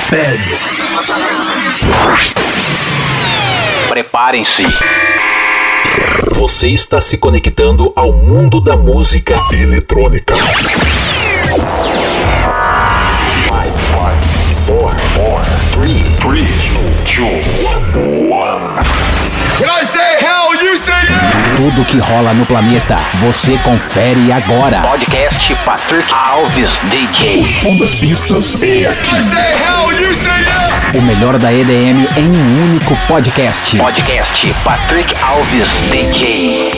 Feds. Preparem-se. Você está se conectando ao mundo da música eletrônica. 5, 4, 3, 2, 1. When I say hell, you say yeah! Tudo que rola no planeta, você confere agora. Podcast Patrick Alves DJ. O som das pistas é aqui. I say hell, you say yeah! O melhor da EDM em um único podcast. Podcast Patrick Alves DJ.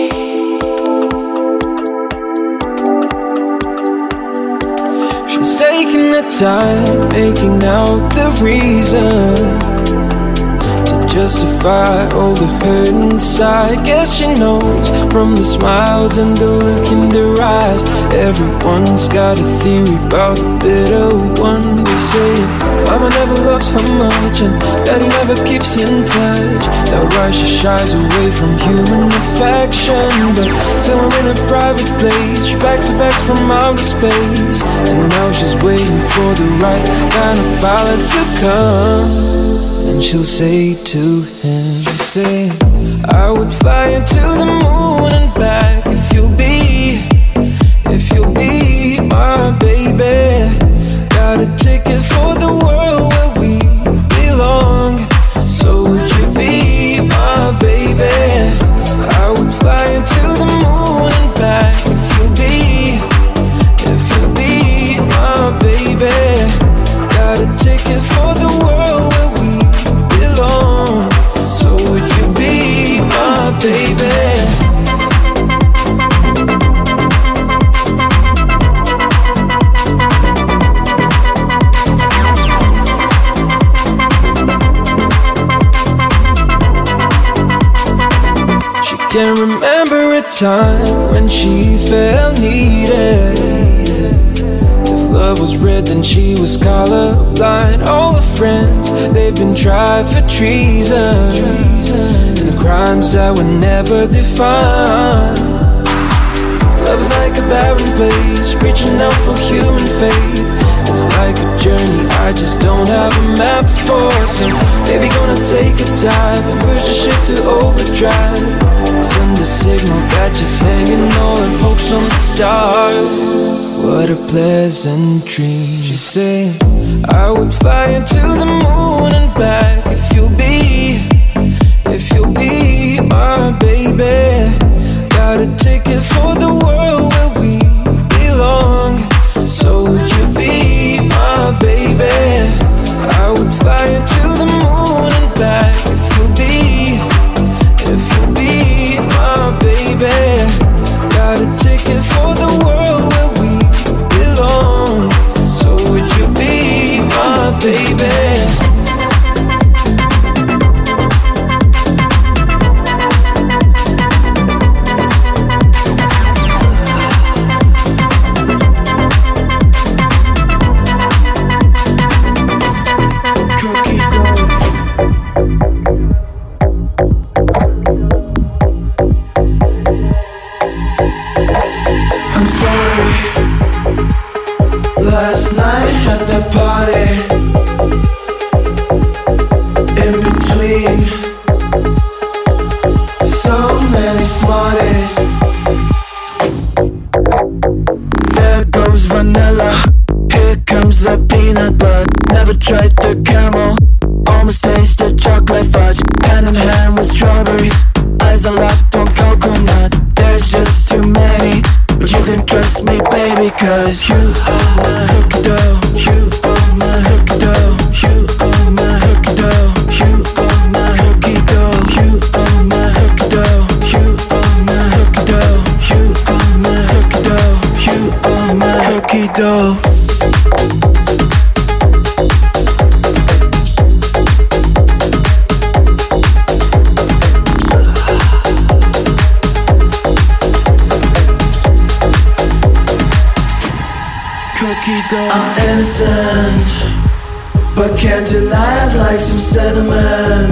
She's taking the time, making out the reason to justify all the hurt inside. Guess she knows from the smiles and the look in their eyes. Everyone's got a theory about the bitter one. They say mama never loved her much and daddy never keeps in touch. That's why she shies away from human affection. But somewhere in a private place, she packs her bags from outer space, and now she's waiting for the right kind of pilot to come. And she'll say to him, she'll say, I would fly you to the moon and back if you'll be my baby. Got a ticket for the world where we belong. So would you be my baby? I would fly you to the moon and back if you'll be my baby. Got a ticket for the world where we belong. So would you be my baby? Can't remember a time when she felt needed. If love was red, then she was colorblind. All her friends, they've been tried for treason and crimes that were never defined. Love is like a barren place, reaching out for human faith. It's like a journey I just don't have a map for. So baby, gonna take a dive and push the ship to overdrive. Send a signal that just hanging all her hopes on the stars. What a pleasant dream. She said, I would fly you to the moon and back if you'll be my baby. Got a ticket for the world where we belong. So would you be my baby? I would fly you to the moon and back if you'll be my baby. Got a ticket for the world where we belong. So would you be my baby? Last night at the party, in between so many smarties. There goes vanilla, here comes the peanut butter. Never tried the caramel, almost tasted chocolate fudge. Hand in hand with strawberries, eyes are locked on coconut. There's just too many, but you can trust me, baby, cause you are my cookie dough. You are my cookie dough. You are my cookie dough. You are my cookie dough. You are my cookie dough. You are my cookie dough. You are my cookie dough. You are my cookie dough. I'm innocent, but can't deny I'd like some cinnamon.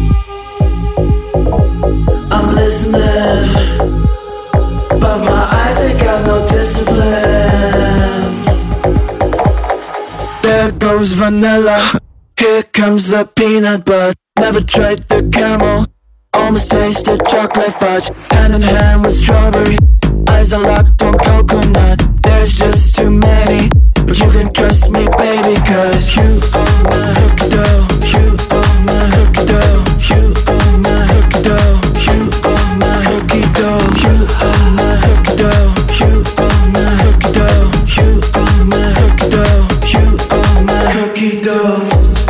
I'm listening, but my eyes ain't got no discipline. There goes goes vanilla. Here comes the peanut butter. Never tried the camel. Almost tasted chocolate fudge. Hand in hand with strawberry. Eyes are locked on coconut. There's just too many, but you can trust me, baby, cause you are my hooky dough. You are my hooky dough. You are my hooky dough. You are my hooky dough. You are my hooky dough. You are my hooky dough. You are my hooky dough. You are my hooky dough.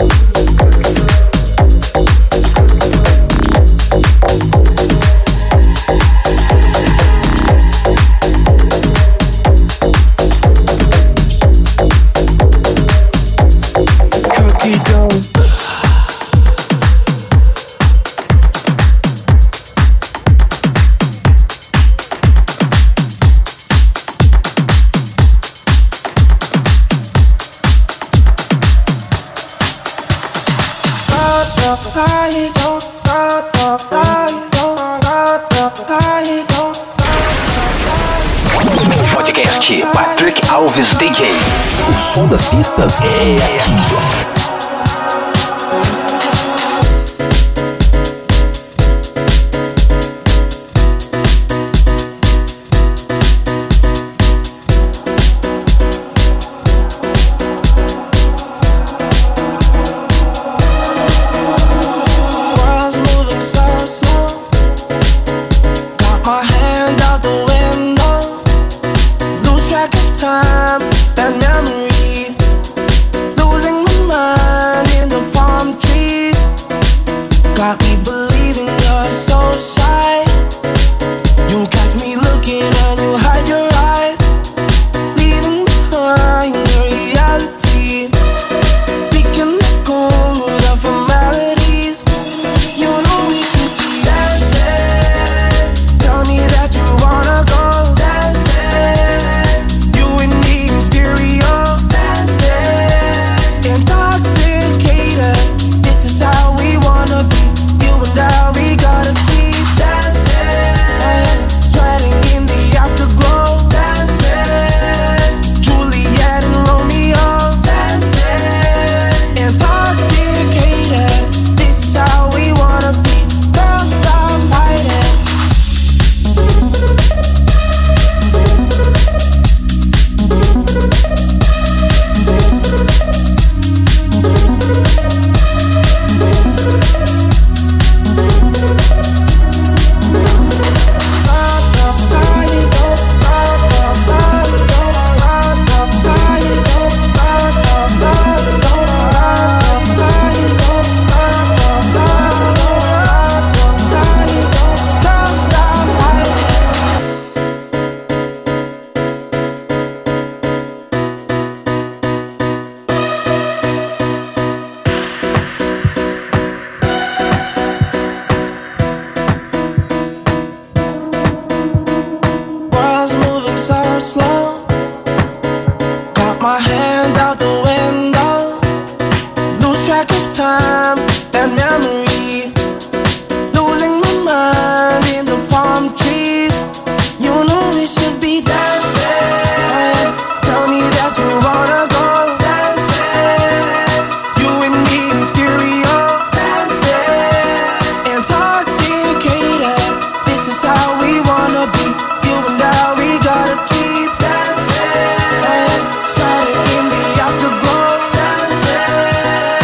Podcast Patrick Alves DJ. O som das pistas é aqui.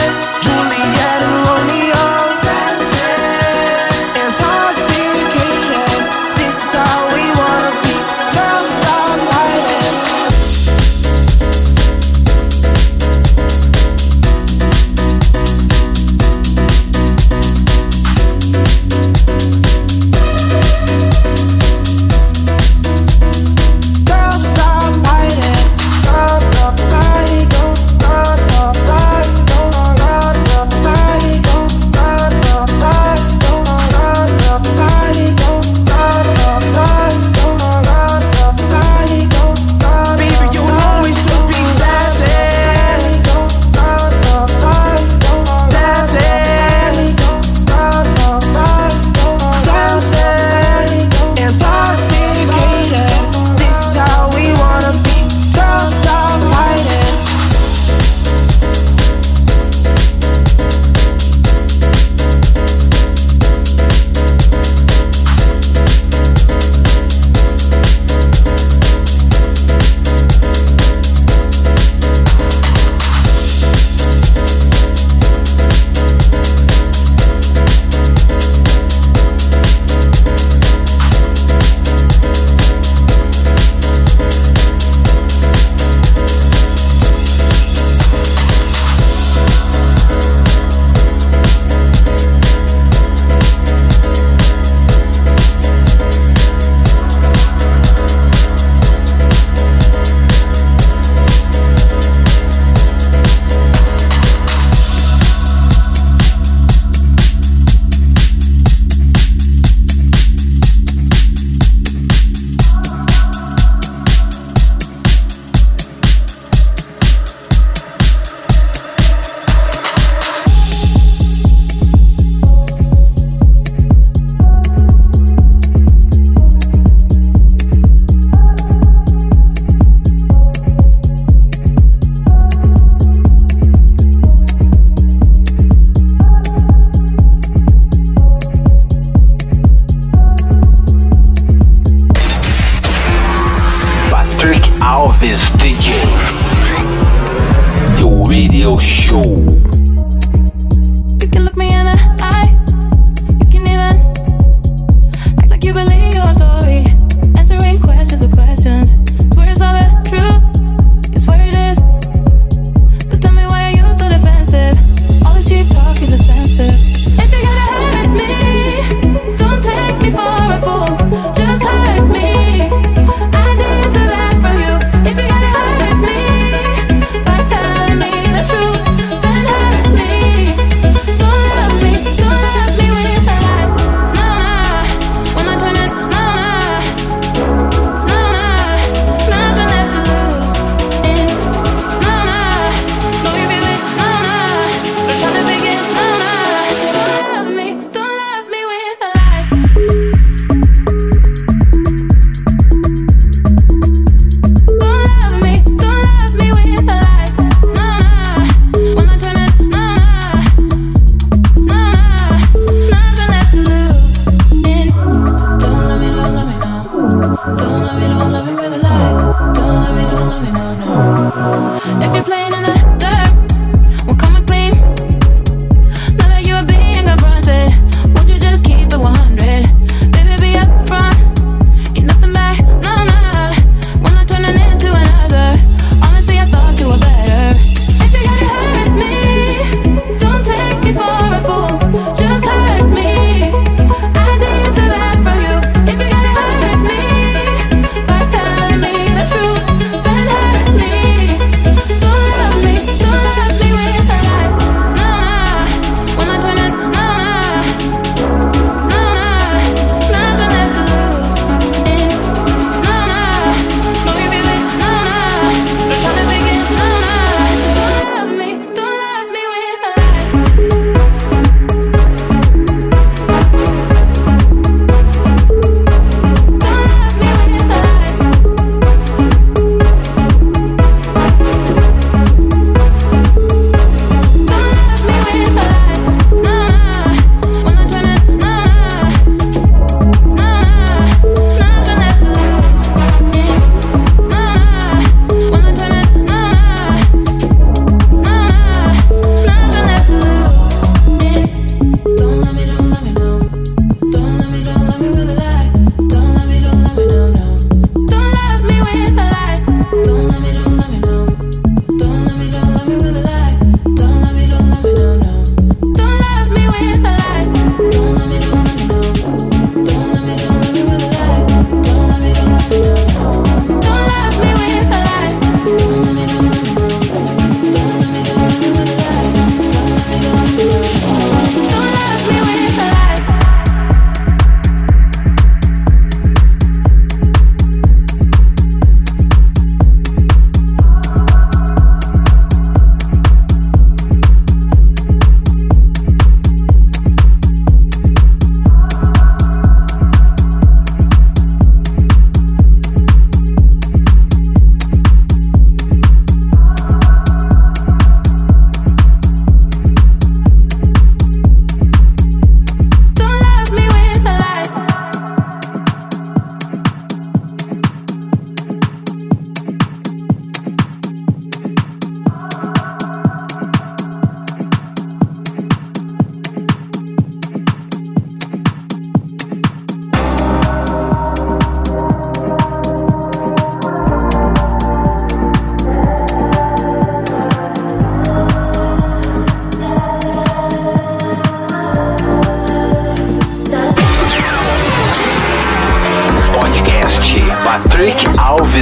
Juliet and Romeo, intoxicated.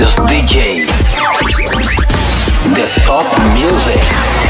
Alves DJ. The top music.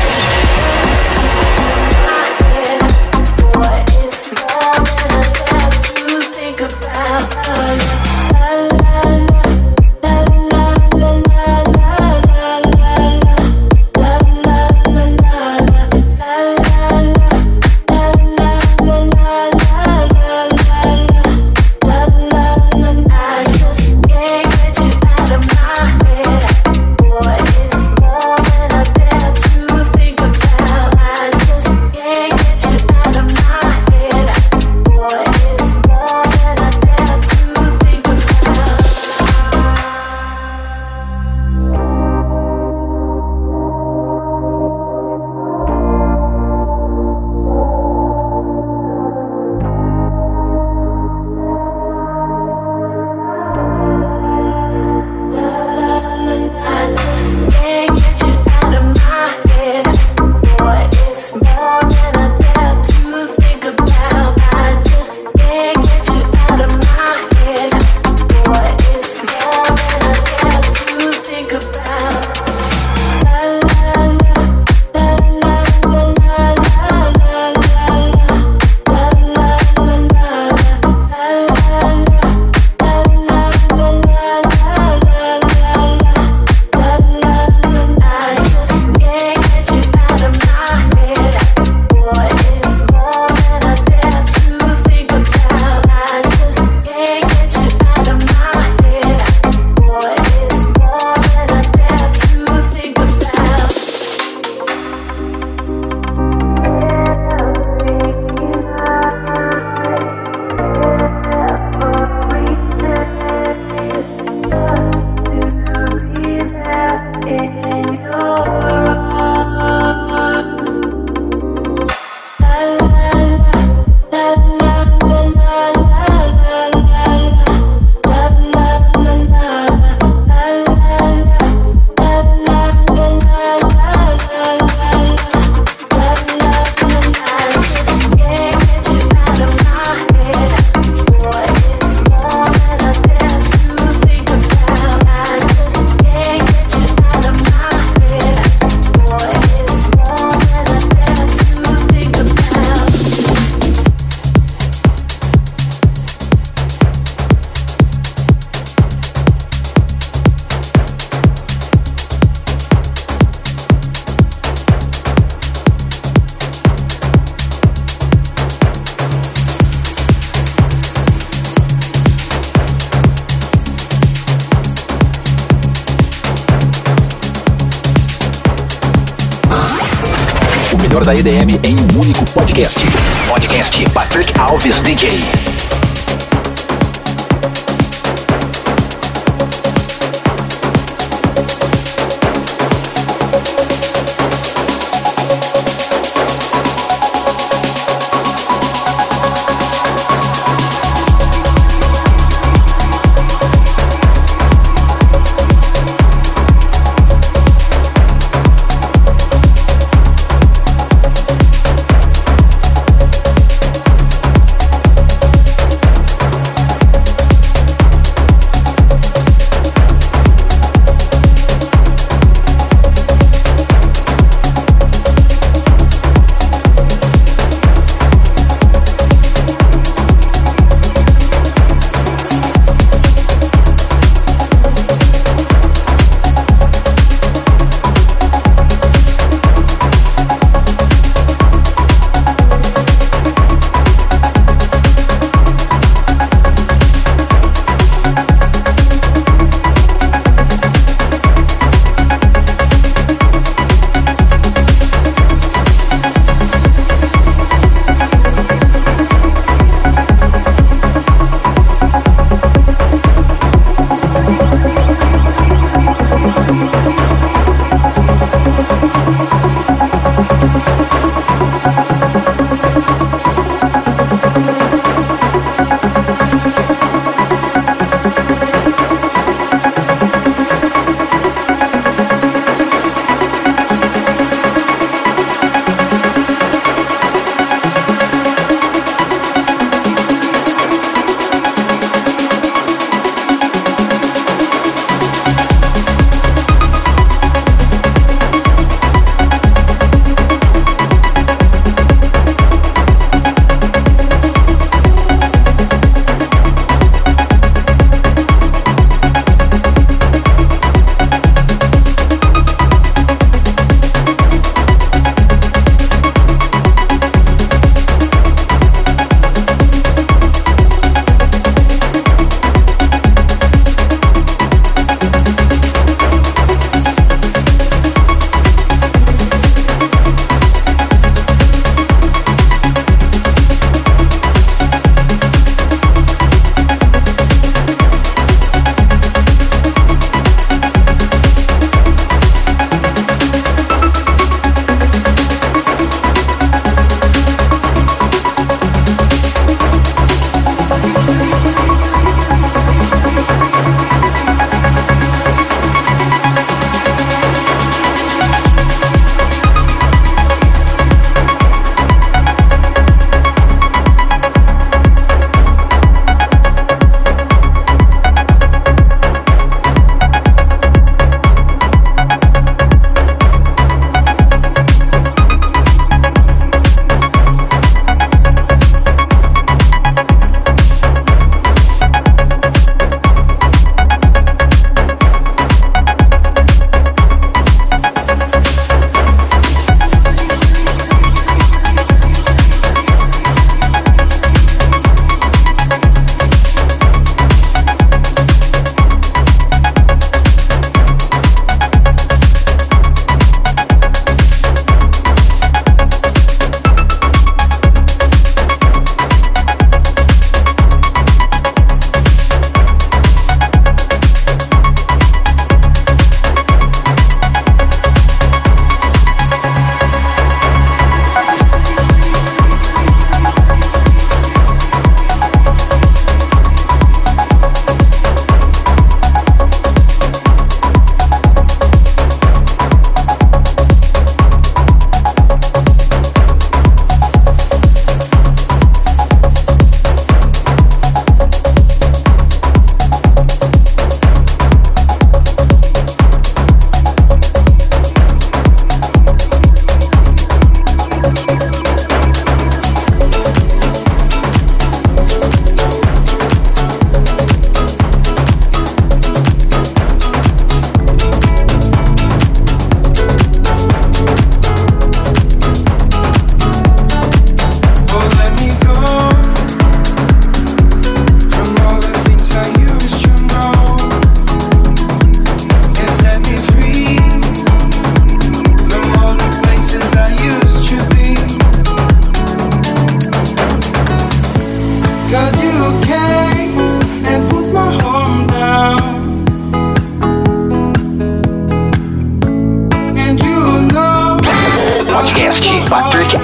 Da EDM em um único podcast. Podcast Patrick Alves DJ.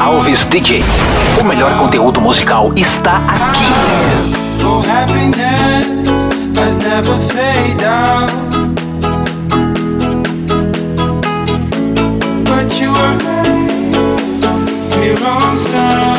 Alves DJ. O melhor conteúdo musical está aqui. Oh, happiness has never fade out. But you were me wrong side.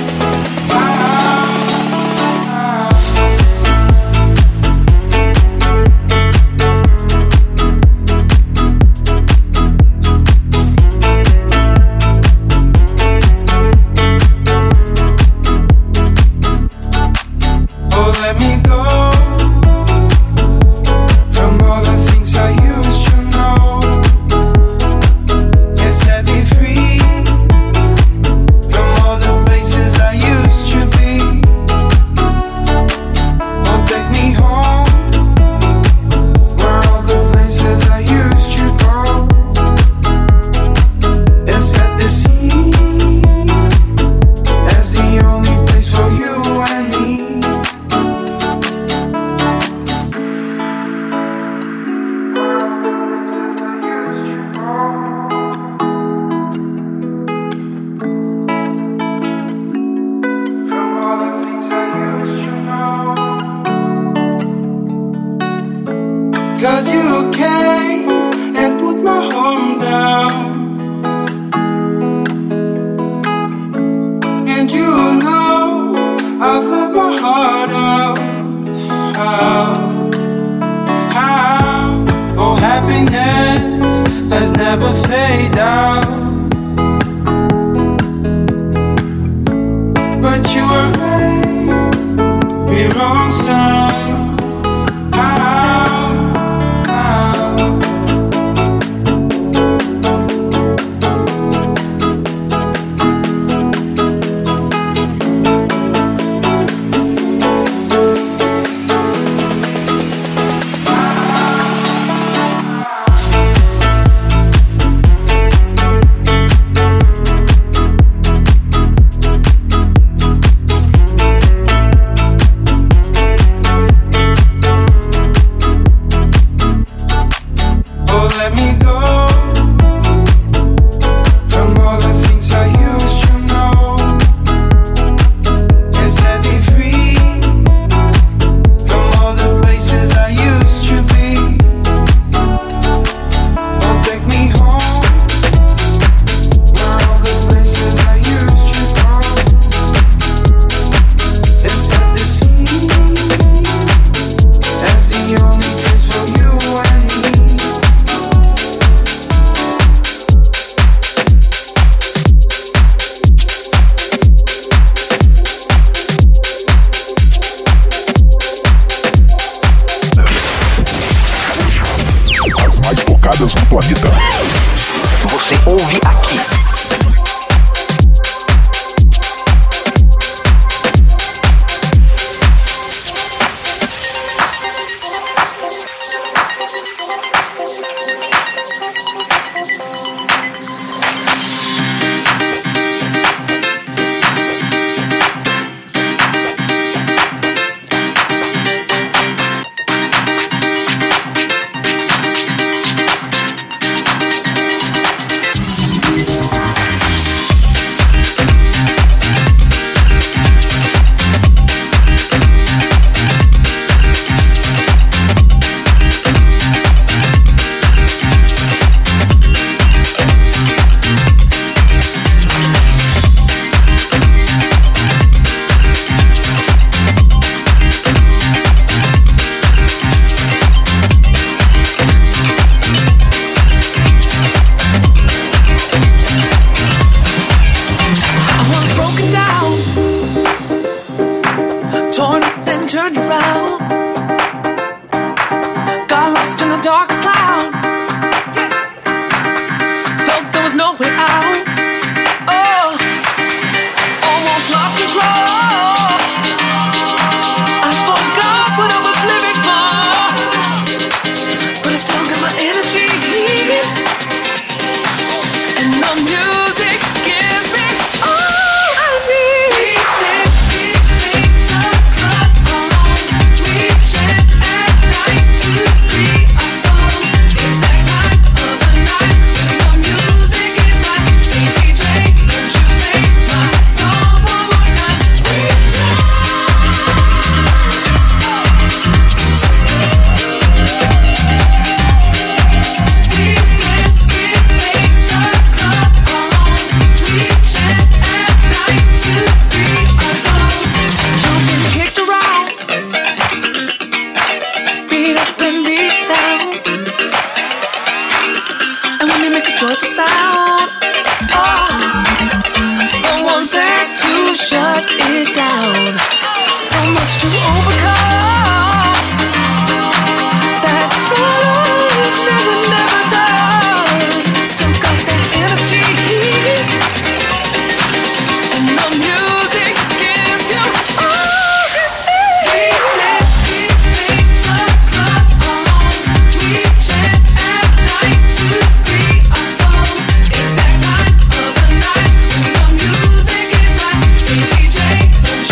Let me go from all the things I used to know, and set me free from all the places I used to be. Oh, take me home where all the places I used to go, and set the sea as the only place for you and me. Cause you came and put my home down, and you know I've left my heart out. How? Oh, happiness has never fade out. But you were right, me wrong side. shut it down. So much to overcome. That's why it's never done. Still got that energy, and the music gives you all it is. We dance, we make the club our home. We chant at night to free our souls. It's that time of the night when the music is right. The DJ, don't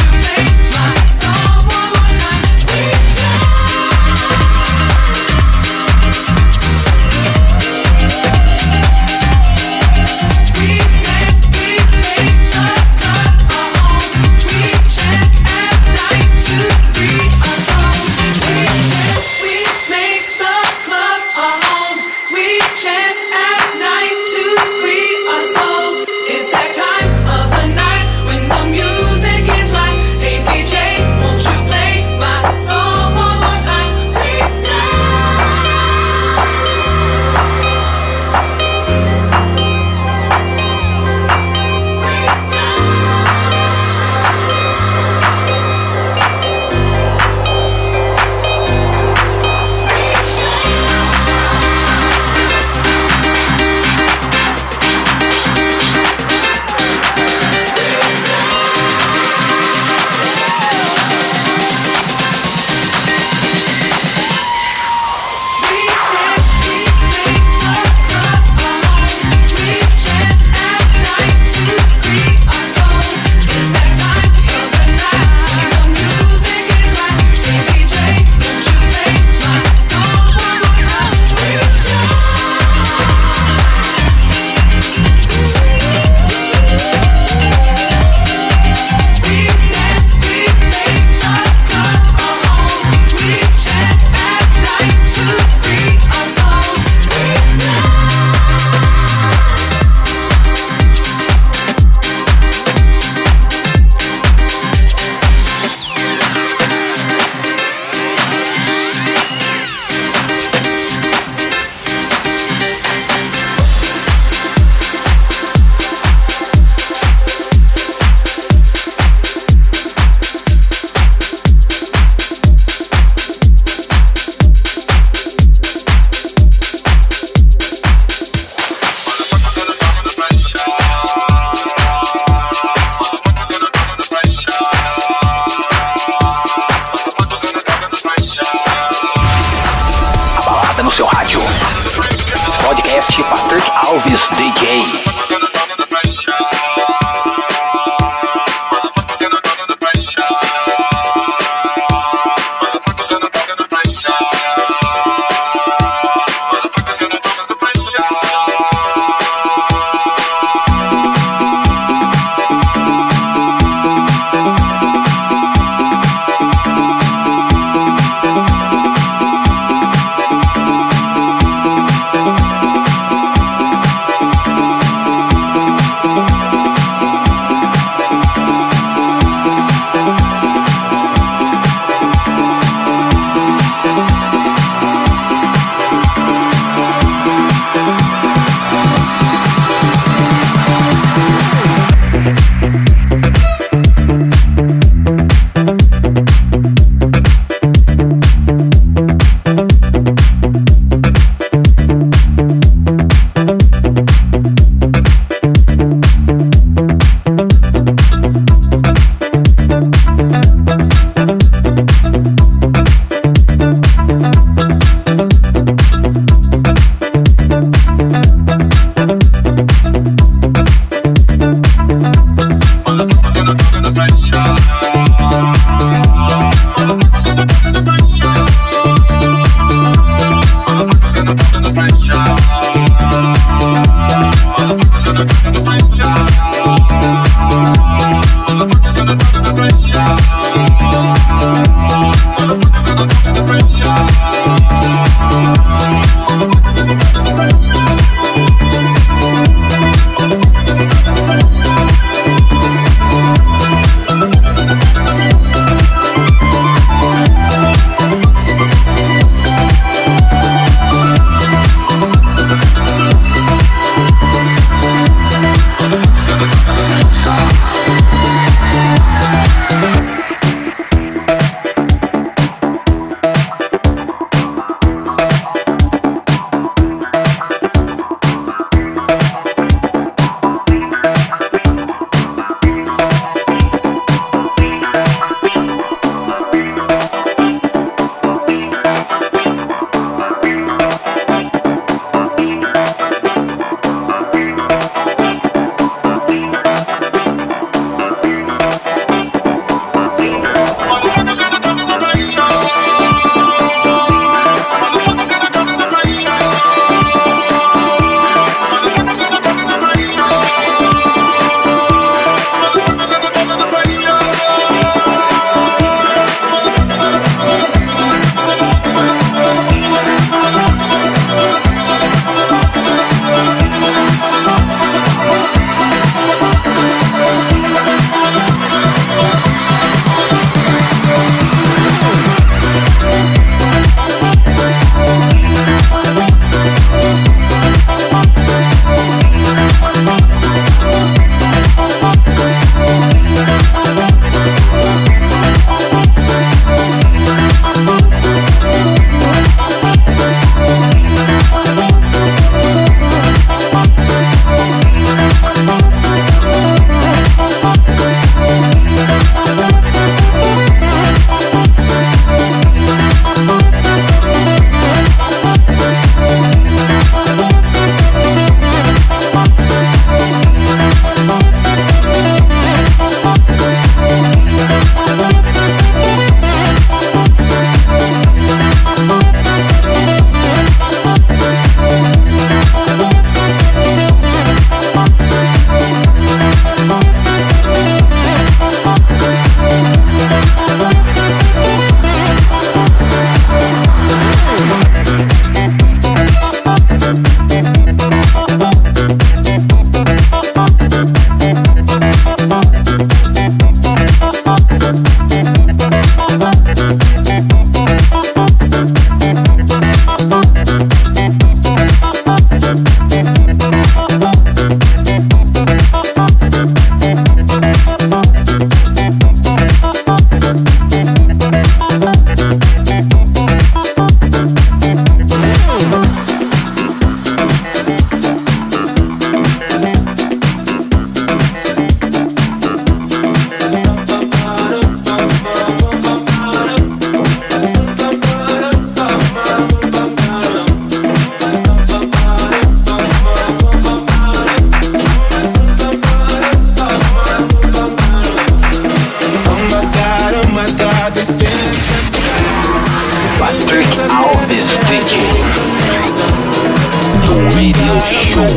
Radio Show.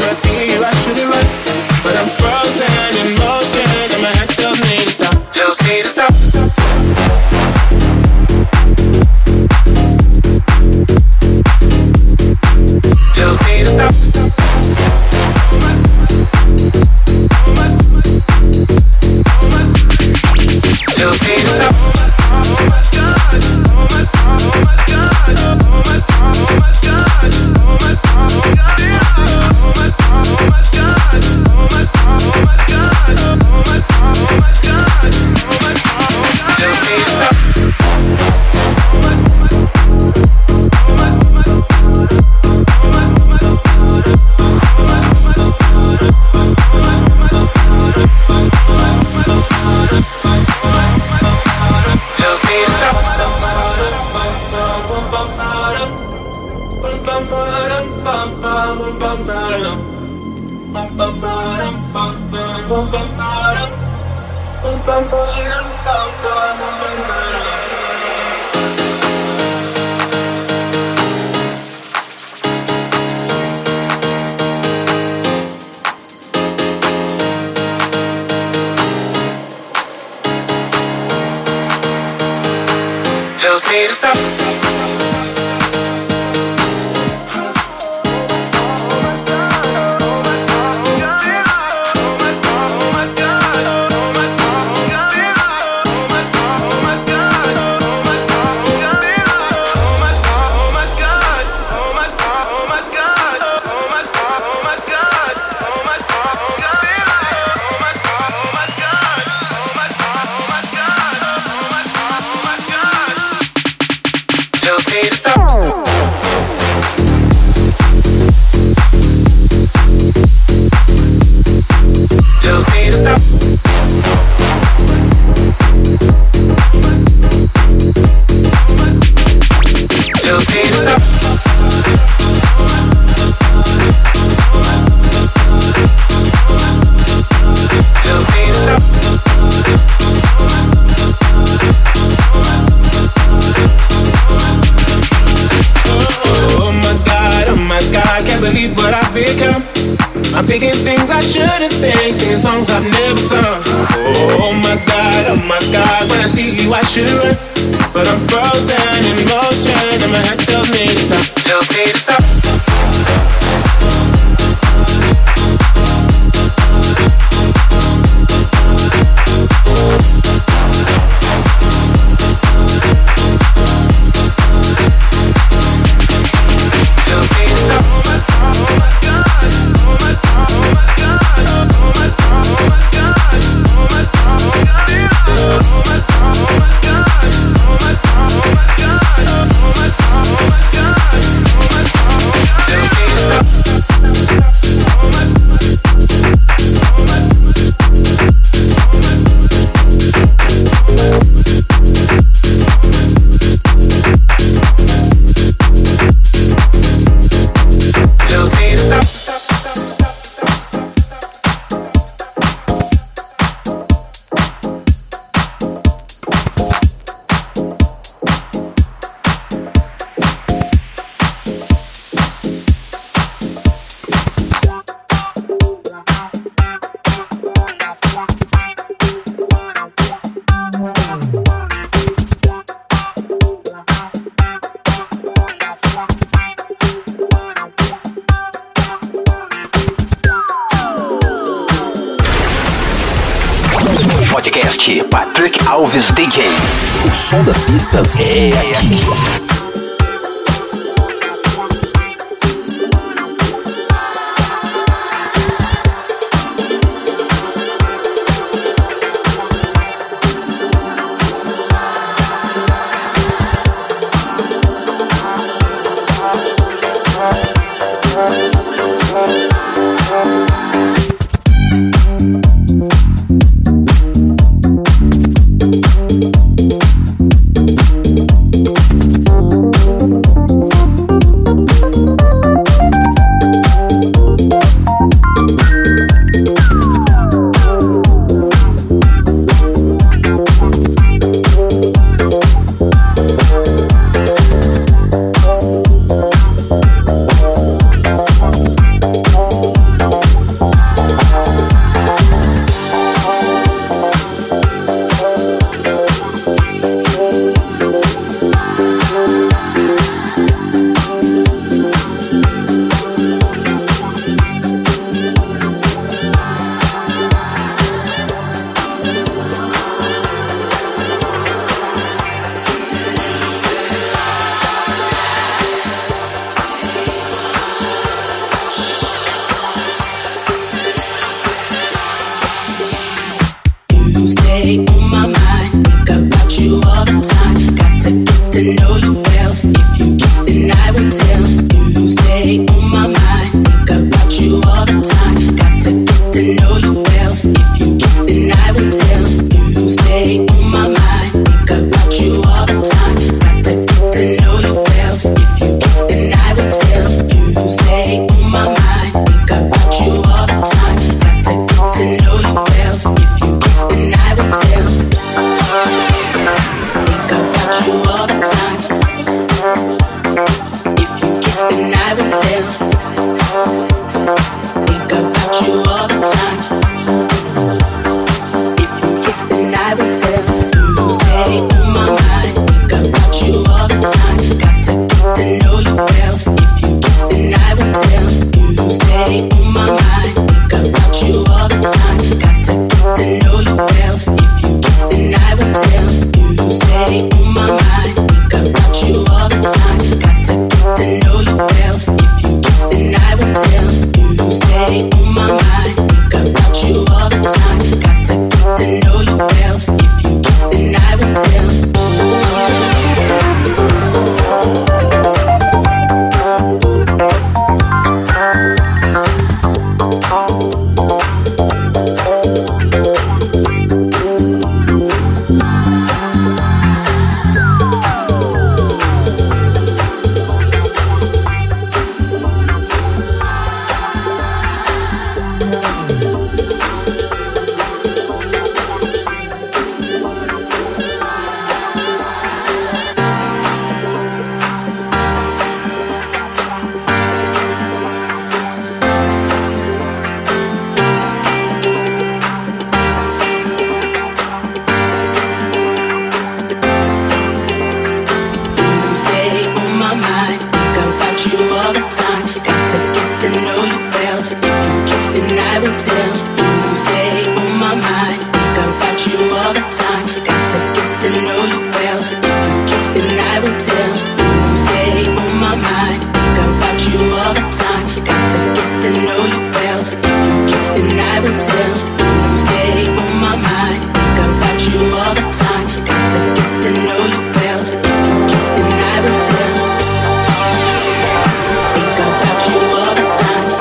Tells me to stop. Believe what I've become. I'm thinking things I shouldn't think, singing songs I've never sung. Oh my God, when I see you I should run, but I'm frozen in motion and my head tells me to stop, tells me to stop. Podcast Patrick Alves DJ. O som das pistas é aqui. stay on my mind. Think about you all the time. Got to get to know you well. If you kiss, then I will tell. You stay on my mind. Think about you all the time. Got to get to know you well. If you kiss, then I will tell. You stay on my mind. Think about you all the time. Got to get to know you well. If you kiss, then I will tell. You stay on my mind. Think about you all the time. Got to get to know you well. If you kiss, then I will tell. Think about you all the time. If you kiss, then I will tell. Think about you all the time. If you kiss, then I will tell. You stay on my mind. Think about you all the time. Got to get to know you well. If you kiss, then I will tell. You stay on my mind. Think about you all the time. Got to get to know you well. If you kiss, then I will tell. You stay on my mind. Think about you all the time. Got to get to know you well. If you kiss, then I will tell. You stay on my mind. Think about you all the time. Got to get to know you well. If you kiss, then I will tell. You stay on my mind. Think about you all the time. Got to get to know you well. If you kiss, then I will tell. You stay on my mind. Think about you all the time. Got to get to know you well. If you kiss, then I will tell. You stay on my mind. Think about you all the time. Got to get to know you well. If you kiss, then I will tell. You stay on my mind. Think about you all the time. Got to get to know you well. If you kiss, then I will tell. Think about you all the time.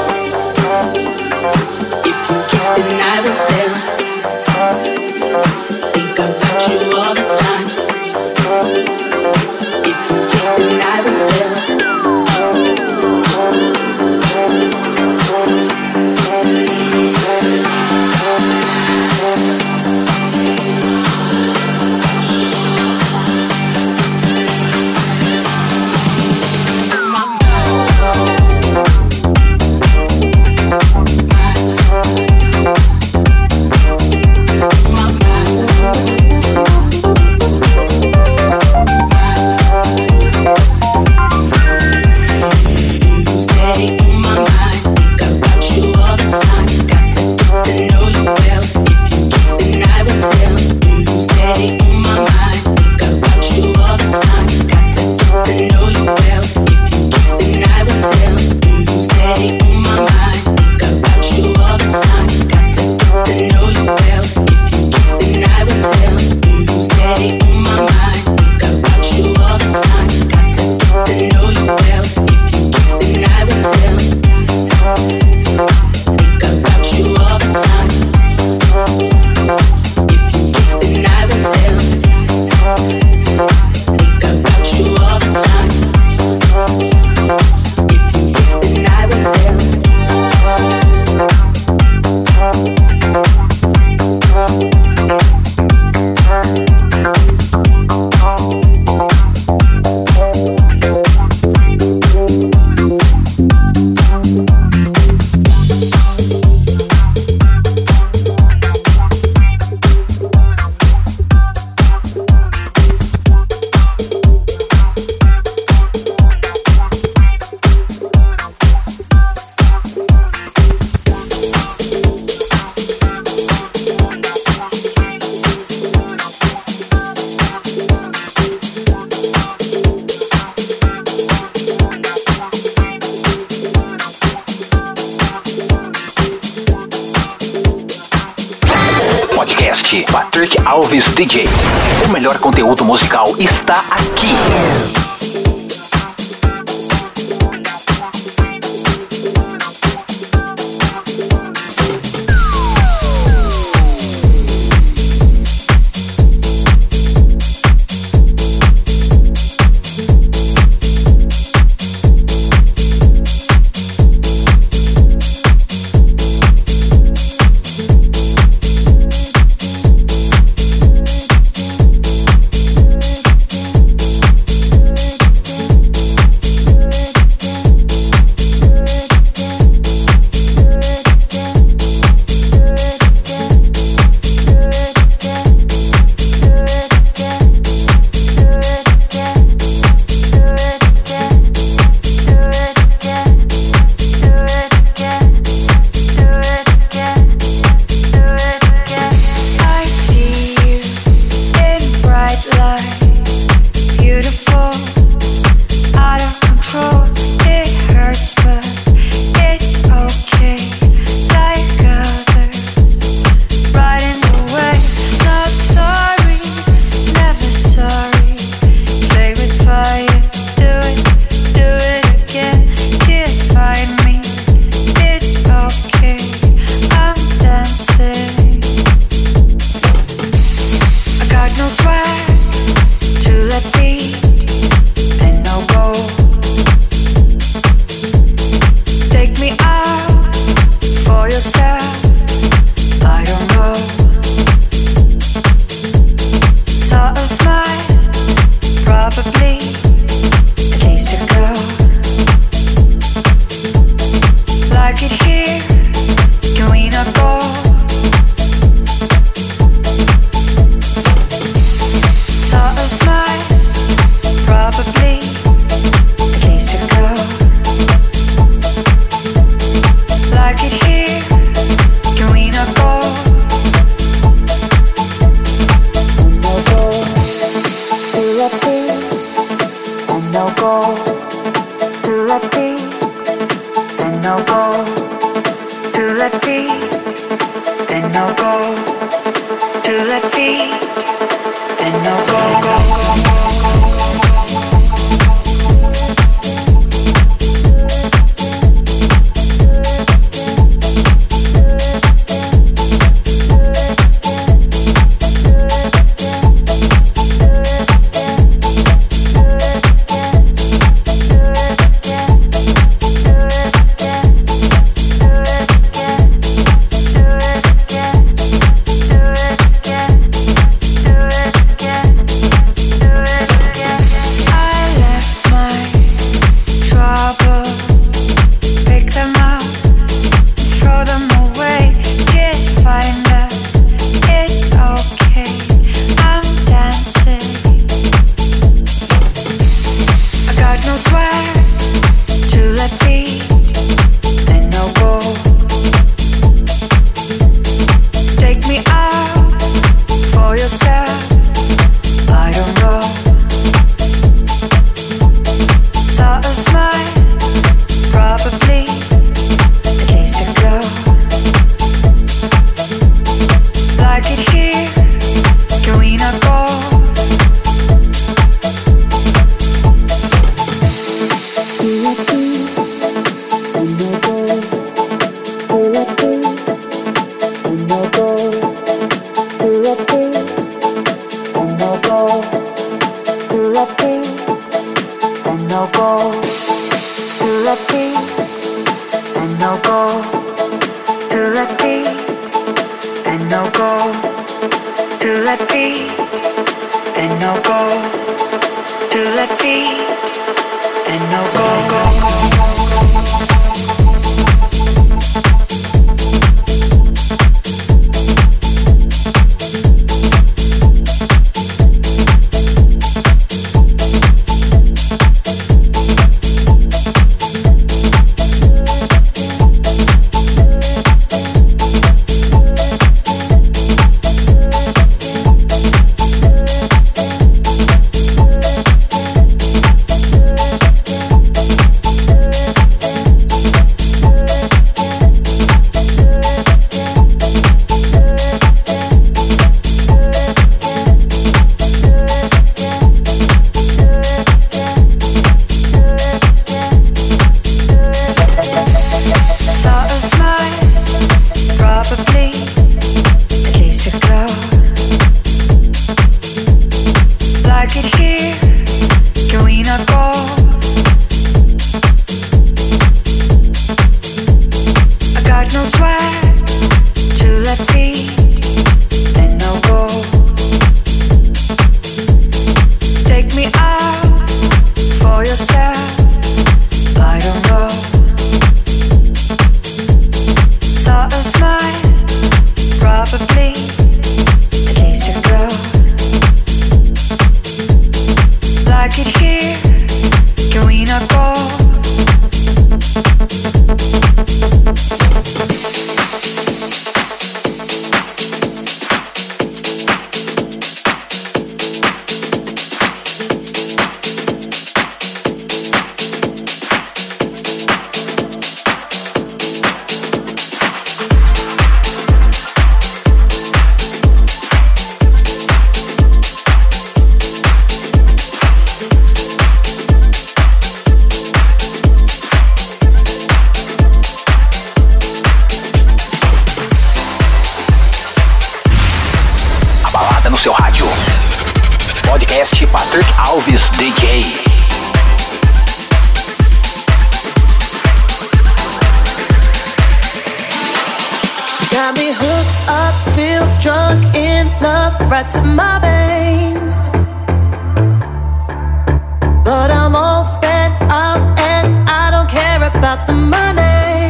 If you kiss, then I will tell. Think about Eric Alves DJ. O melhor conteúdo musical está aqui. Rádio. Podcast Patrick Alves DJ. Got me hooked up, feel drunk in love, right to my veins. But I'm all spent out and I don't care about the money.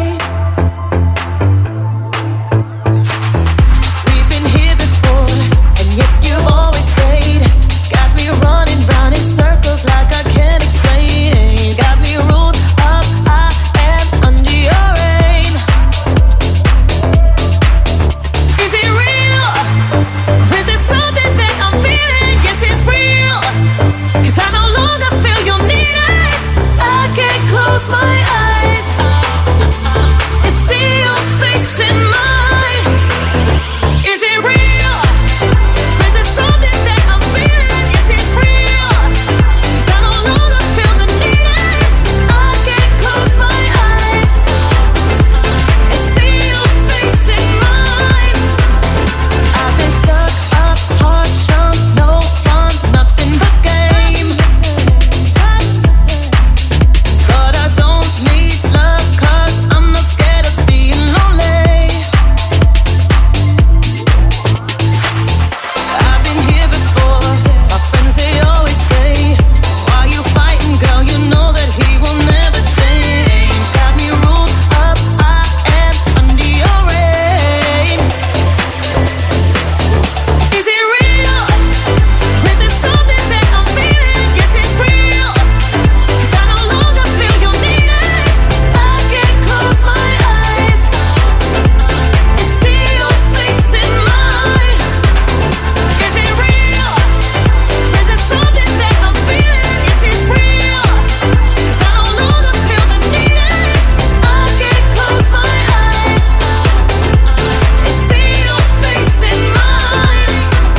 We've been here before, and yet you've always stayed. Got me running round in circles like I can't explain. Got me ruled up, I am under your reign. Is it real? Is it something that I'm feeling? Yes, it's real. 'Cause I no longer feel your need. I can't close my eyes and see your face in mine. Is it real? Is it something that I'm feeling? Yes, it's real. 'Cause I no longer feel the need. I can't close my eyes and see your face in mine. I've been stuck up, hard strung, no fun, nothing but game. But I don't need love 'cause I'm not scared of being lonely. I've been here before, my friends they always say, why you fighting, girl, you know that he will never change. Got me ruled up, I am under your reign. Is it real? Is it something that I'm feeling? Yes, it's real. 'Cause I no longer feel your need. I can't close my eyes and see your face in mine. Is it real? Is it something that I'm feeling? Yes, it's real. 'Cause I no longer feel the need. I can't close my eyes and see your face in mine.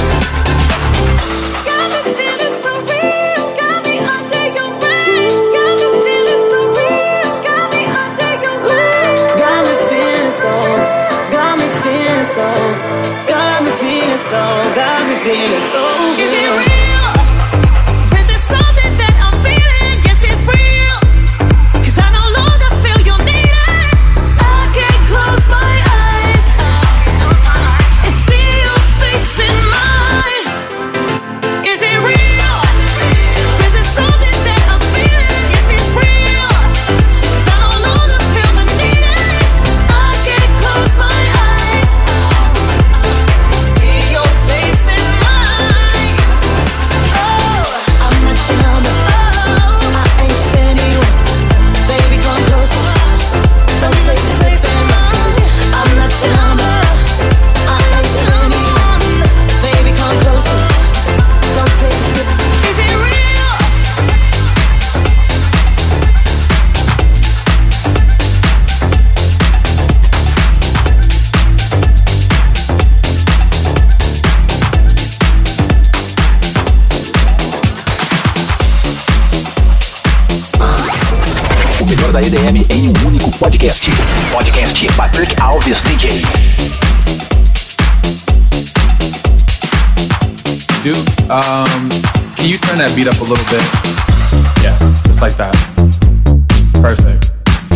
Got me feeling so real, got me under your reign. Got me feeling so real, got me under your reign. Got me feeling so, got me feeling so, got me feeling so, got me feeling so real. Is it real? Is it something that I'm feeling? Yes, it's real. 'Cause I no longer feel your need. I can't close my eyes and see your face in mine. Is it real? Is it something that I'm feeling? Yes, it's real. 'Cause I no longer feel the need. I can't close my eyes and see your face in mine. Oh, I'm not your number. Oh, I ain't just anyone. Baby, come closer. Don't take your face in mine. I'm not your number. I ain't just anyone. Baby, come closer. Don't take a sip. Is it real? O melhor da EDM em um único podcast. Podcast Patrick Alves DJ. Dude, can you turn that beat up a little bit? Yeah, just like that. Perfect.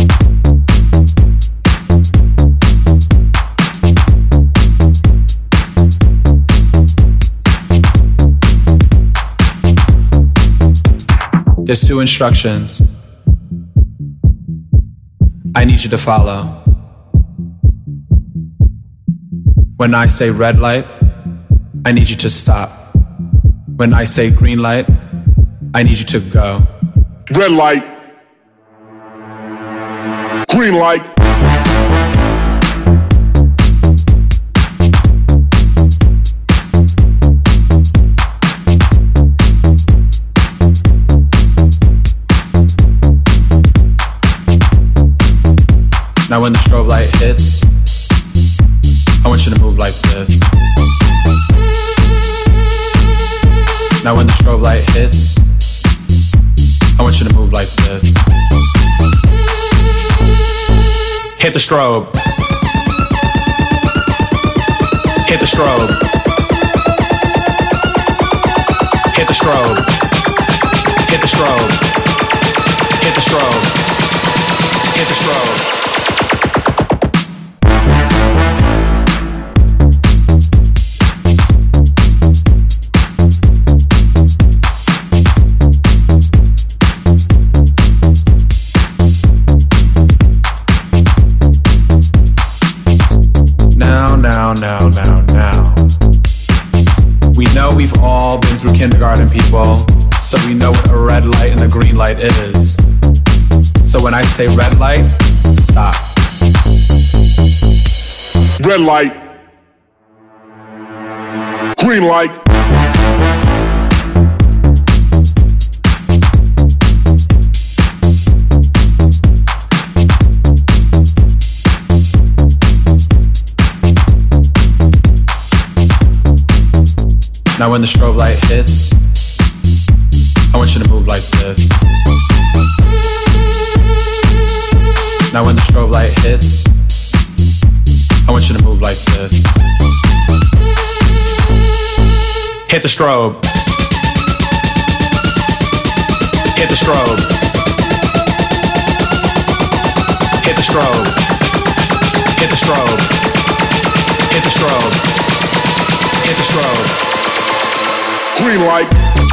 There's 2 instructions I need you to follow. When I say red light, I need you to stop. When I say green light, I need you to go. Red light. Green light. Now when the strobe light hits, I want you to move like this. Now when the strobe light hits, I want you to move like this. Hit the strobe. Hit the strobe. the strobe. Hit the strobe. Hit the strobe. Hit the strobe. Now. We know we've all been through kindergarten, people, so we know what a red light and a green light is. So when I say red light, stop. Red light. Green light. Now when the strobe light hits, I want you to move like this. Now when the strobe light hits, I want you to move like this. Hit the strobe. Hit the strobe. Hit the strobe. Hit the strobe. Hit the strobe. Hit the strobe. Green light.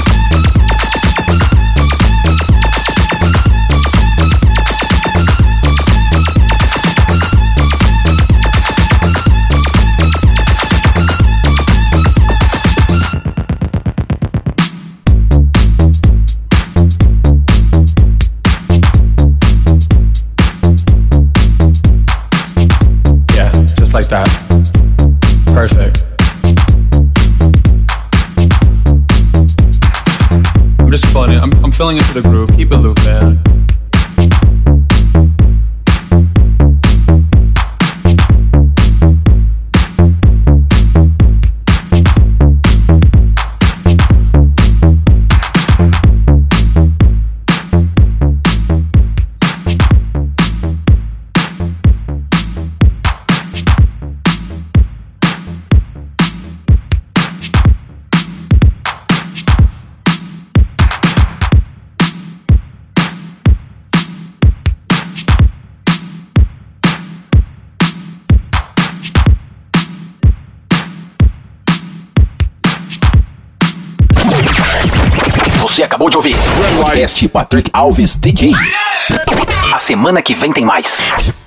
Yeah, just like that. Perfect. I'm just feeling it. I'm feeling into the groove. Keep it looping. Você acabou de ouvir o podcast Patrick Alves DJ. A semana que vem tem mais.